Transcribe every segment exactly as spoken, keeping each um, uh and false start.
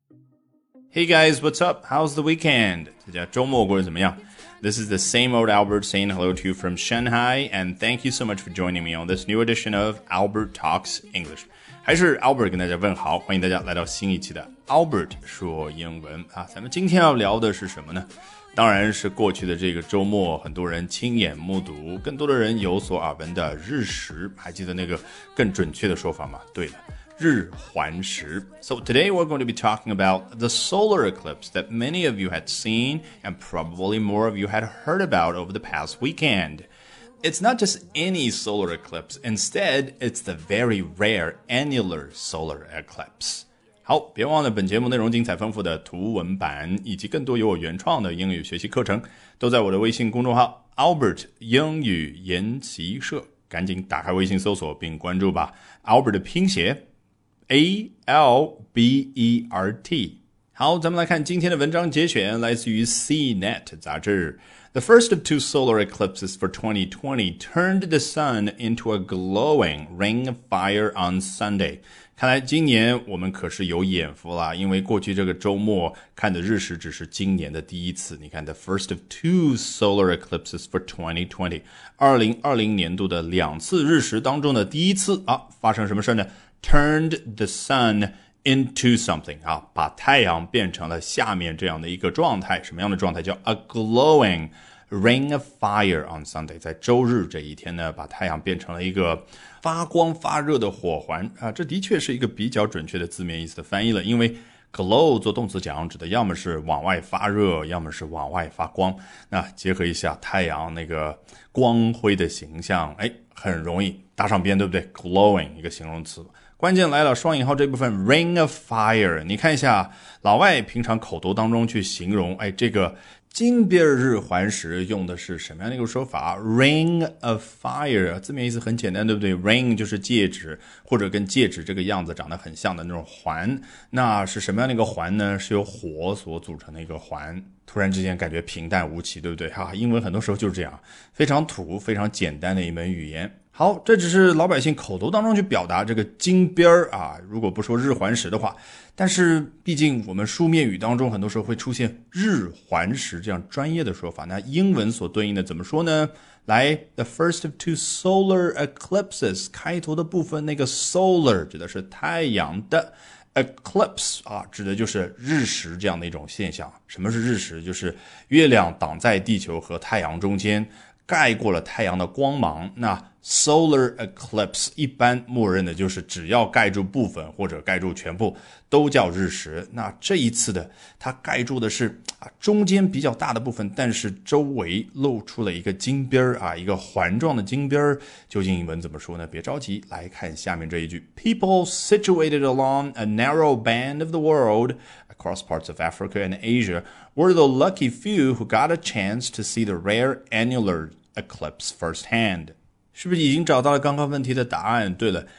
Hey guys, what's up? How's the weekend? 大家周末过得怎么样？ This is the same old Albert saying hello to you from Shanghai, and thank you so much for joining me on this new edition of Albert Talks English. 还是 Albert 跟大家问好，欢迎大家来到新一期的 Albert 说英文啊。咱们今天要聊的是什么呢？当然是过去的这个周末，很多人亲眼目睹，更多的人有所耳闻的日食，还记得那个更准确的说法吗？对了。日环食. So today we're going to be talking about the solar eclipse that many of you had seen and probably more of you had heard about over the past weekend. It's not just any solar eclipse. Instead, it's the very rare annular solar eclipse. 好，别忘了本节目内容精彩丰富的图文版以及更多由我原创的英语学习课程都在我的微信公众号 Albert 英语研习社，赶紧打开微信搜索并关注吧。 Albert 的拼写A L B E R T. 好，咱们来看今天的文章节选，来自于 C Net 杂志。The first of two solar eclipses for twenty twenty turned the sun into a glowing ring of fire on Sunday. 看来今年我们可是有眼福啦，因为过去这个周末看的日食只是今年的第一次。你看 The first of two solar eclipses for twenty twenty. 二零二零年度的两次日食当中的第一次啊，发生什么事呢？Turned the sun into something 啊，把太阳变成了下面这样的一个状态。什么样的状态？叫 a glowing ring of fire on Sunday. 在周日这一天呢，把太阳变成了一个发光发热的火环啊，这的确是一个比较准确的字面意思的翻译了，因为glow 做动词讲指的要么是往外发热，要么是往外发光。那结合一下太阳那个光辉的形象，哎，很容易搭上边，对不对？ glowing 一个形容词。关键来了，双引号这部分 ring of fire， 你看一下老外平常口头当中去形容，哎，这个金边日环食用的是什么样的一个说法？ ring of fire 字面意思很简单，对不对？ ring 就是戒指，或者跟戒指这个样子长得很像的那种环。那是什么样的一个环呢？是由火所组成的一个环。突然之间感觉平淡无奇，对不对？哈，英文很多时候就是这样，非常土非常简单的一门语言。好，这只是老百姓口头当中去表达这个金边啊，如果不说日环食的话，但是毕竟我们书面语当中很多时候会出现日环食这样专业的说法，那英文所对应的怎么说呢？来 The first of two solar eclipses 开头的部分，那个 solar 指的是太阳的， eclipse 啊，指的就是日食这样的一种现象。什么是日食？就是月亮挡在地球和太阳中间，盖过了太阳的光芒。那 solar eclipse 一般默认的就是只要盖住部分或者盖住全部都叫日食。那这一次的它盖住的是啊中间比较大的部分，但是周围露出了一个金边啊，一个环状的金边。究竟英文怎么说呢？别着急，来看下面这一句 People situated along a narrow band of the world across parts of Africa and Asia were the lucky few who got a chance to see the rare annular eclipse firsthand. 是不是已经找到了刚刚问题的答案？对了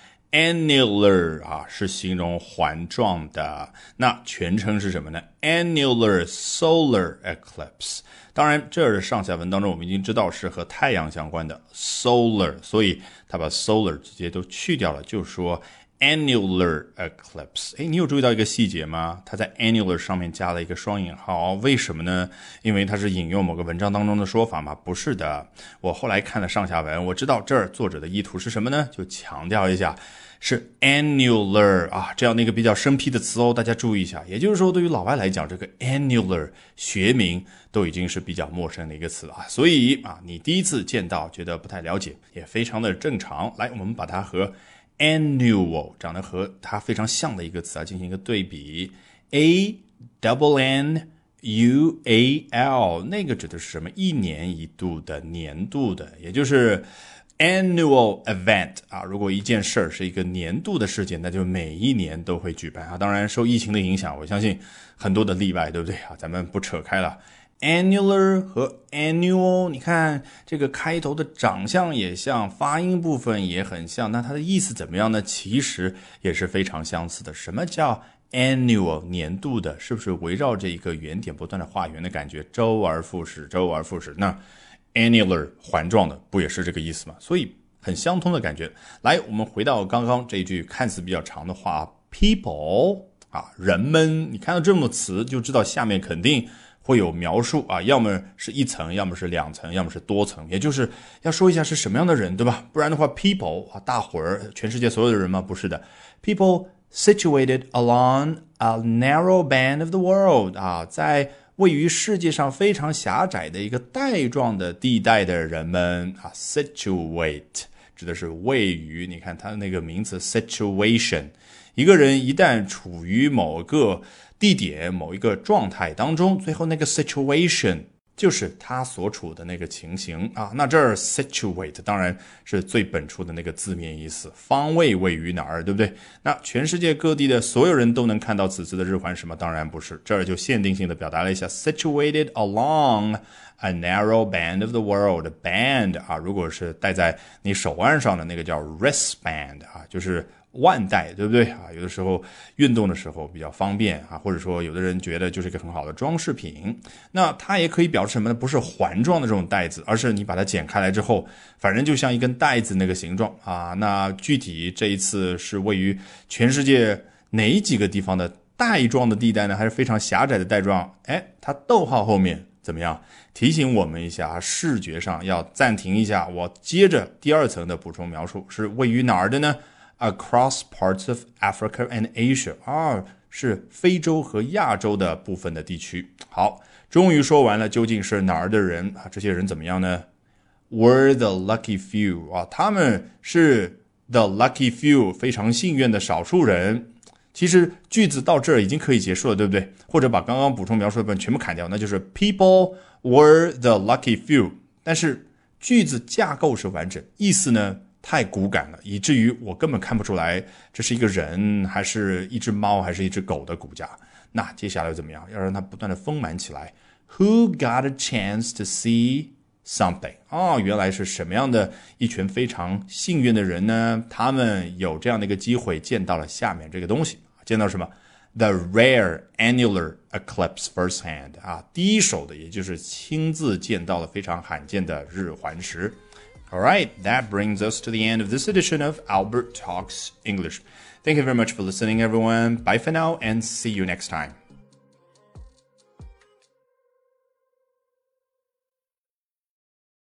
annular 啊是形容环状的，那全称是什么呢？ annular solar eclipse。 当然这儿的上下文当中我们已经知道是和太阳相关的 solar， 所以他把 solar 直接都去掉了，就说annular eclipse。 诶，你有注意到一个细节吗？它在 annular 上面加了一个双引号，为什么呢？因为它是引用某个文章当中的说法吗？不是的，我后来看了上下文，我知道这儿作者的意图是什么呢？就强调一下是 annular 啊，这样的一个比较生僻的词哦，大家注意一下。也就是说对于老外来讲，这个 annular 学名都已经是比较陌生的一个词了，所以啊，你第一次见到觉得不太了解也非常的正常。来，我们把它和annual 长得和它非常像的一个词啊进行一个对比 A double N U A L， 那个指的是什么？一年一度的，年度的，也就是 annual event 啊。如果一件事儿是一个年度的事件，那就每一年都会举办啊。当然受疫情的影响，我相信很多的例外，对不对啊？咱们不扯开了。annular 和 annual， 你看这个开头的长相也像，发音部分也很像，那它的意思怎么样呢？其实也是非常相似的。什么叫 annual 年度的？是不是围绕着一个圆点不断的画圆的感觉，周而复始，周而复始？那 annular 环状的不也是这个意思吗？所以很相通的感觉。来，我们回到刚刚这一句看似比较长的话 people 啊，人们，你看到这么多词就知道下面肯定会有描述啊，要么是一层，要么是两层，要么是多层，也就是要说一下是什么样的人，对吧？不然的话 people 啊，大伙儿，全世界所有的人吗？不是的， people situated along a narrow band of the world 啊，在位于世界上非常狭窄的一个带状的地带的人们啊 situate 指的是位于，你看它那个名词 situation， 一个人一旦处于某个地点某一个状态当中，最后那个 situation 就是他所处的那个情形啊。那这儿 situate 当然是最本初的那个字面意思，方位位于哪儿，对不对？那全世界各地的所有人都能看到此词的日环食吗？当然不是，这儿就限定性的表达了一下 situated along a narrow band of the world。 band 啊，如果是戴在你手腕上的那个叫 wristband 啊，就是腕带，对不对啊？有的时候运动的时候比较方便啊，或者说有的人觉得就是一个很好的装饰品。那它也可以表示什么呢？不是环状的这种带子，而是你把它剪开来之后，反正就像一根带子那个形状啊。那具体这一次是位于全世界哪几个地方的带状的地带呢？还是非常狭窄的带状？哎，它逗号后面怎么样？提醒我们一下，视觉上要暂停一下。我接着第二层的补充描述，是位于哪儿的呢？Across parts of Africa and Asia 啊，是非洲和亚洲的部分的地区。好，终于说完了究竟是哪儿的人啊？这些人怎么样呢？ Were the lucky few 啊，他们是 the lucky few 非常幸运的少数人。其实句子到这儿已经可以结束了，对不对？或者把刚刚补充描述的部分全部砍掉，那就是 People were the lucky few。 但是句子架构是完整，意思呢太骨感了，以至于我根本看不出来这是一个人还是一只猫还是一只狗的骨架。那接下来怎么样？要让它不断的丰满起来。 Who got a chance to see something 哦，原来是什么样的一群非常幸运的人呢？他们有这样的一个机会见到了下面这个东西。见到什么？ The rare annular eclipse firsthand 啊，第一手的，也就是亲自见到了非常罕见的日环食。All right, that brings us to the end of this edition of Albert Talks English. Thank you very much for listening, everyone. Bye for now and see you next time.